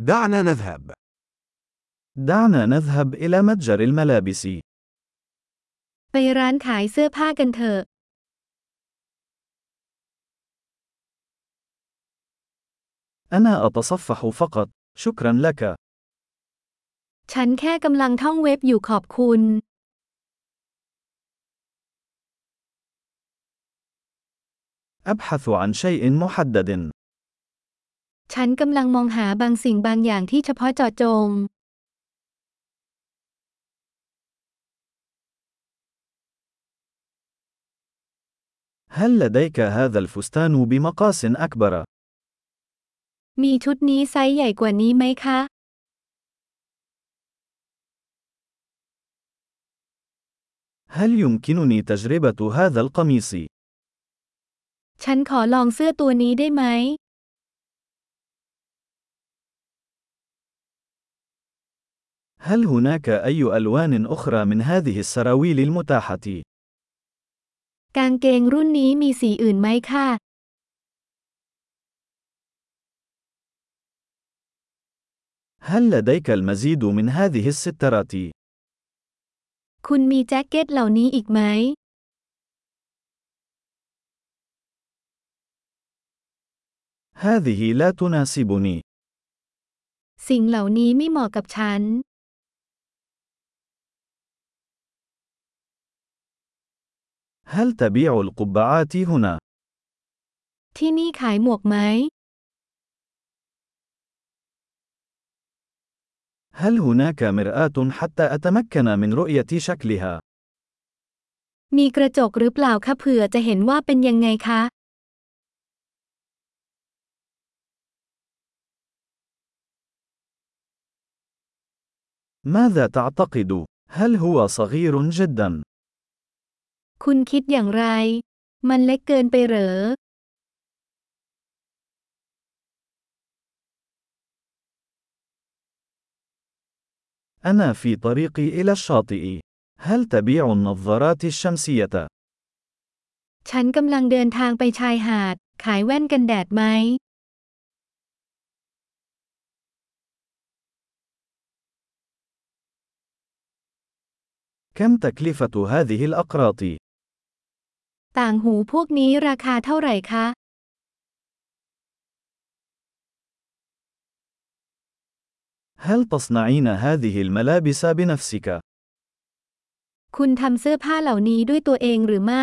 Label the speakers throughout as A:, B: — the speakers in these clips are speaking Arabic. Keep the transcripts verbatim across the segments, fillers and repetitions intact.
A: دعنا نذهب.
B: دعنا نذهب إلى متجر الملابس.
C: ไปร้านขายเสื้อผ้ากันเถอะ
B: أنا أتصفح فقط، شكرا لك.
C: ฉันแค่กำลังท่องเว็บอยู่ขอบคุณ
B: أبحث عن شيء محدد.
C: ฉันกำลังมองหาบางสิ่งบางอย่างที่เฉพาะเจาะจง
B: هل لديك هذا الفستان بمقاس أكبر؟
C: มีชุดนี้ไซส์ใหญ่กว่านี้ไหมคะ
B: هل يمكنني تجربة هذا القميص؟
C: ฉันขอลองเสื้อตัวนี้ได้ไหม
B: هل هناك أي ألوان أخرى من هذه السراويل المتاحة؟
C: กางเกงรุ่นนี้มีสีอื่นไหมคะ
B: هل لديك المزيد من هذه السترات؟
C: คุณมีแจ็คเก็ตเหล่านี้อีกไหม
B: هذه لا تناسبني.
C: สิ่งเหล่านี้ไม่เหมาะกับฉัน
B: هل تبيع القبعات هنا؟
C: ที่นี่ขายหมวกไหม
B: هل هناك مرآة حتى أتمكن من رؤية شكلها؟
C: มีกระจกหรือเปล่าคะเผื่อจะเห็นว่าเป็นยังไงคะ
B: ماذا تعتقد؟ هل هو صغير جدا؟
C: คุณคิดอย่างไร มันเล็กเกินไปเหรอ
B: أنا في طريقي إلى الشاطئ. هل تبيع النظارات الشمسية؟
C: ฉันกำลังเดินทางไปชายหาด ขายแว่นกันแดดไหม
B: كم تكلفة هذه الأقراط؟
C: ต่างหูพวกนี้ราคาเท่าไหร่คะ
B: هل تصنعين هذه الملابس بنفسك؟
C: คุณทำเสื้อผ้าเหล่านี้ด้วยตัวเองหรือไม่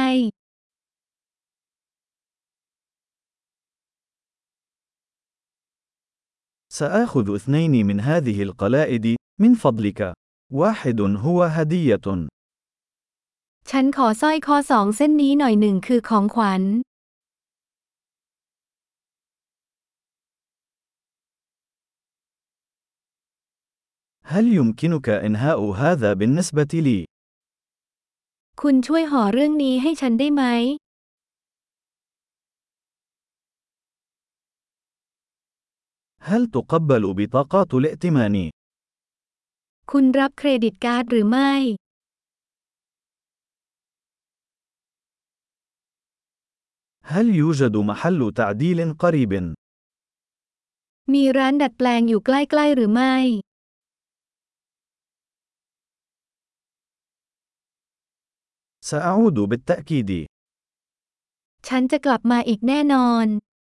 B: سآخذ اثنين من هذه القلائد، من فضلك. واحد هو هدية.
C: ฉันขอสร้อยคอสองเส้นนี้หน่อยหนึ่งคือของขวัญ
B: هل يمكنك إنهاء هذا بالنسبة لي؟
C: คุณช่วยห่อเรื่องนี้ให้ฉันได้ไหม
B: هل تقبل بطاقات الائتمان؟
C: คุณรับเครดิตการ์ดหรือไม่
B: هل يوجد محل تعديل قريب؟
C: มีร้านดัดแปลงอยู่ใกล้ๆหรือไม่
B: سأعود بالتأكيد.
C: ฉันจะกลับมาอีกแน่นอน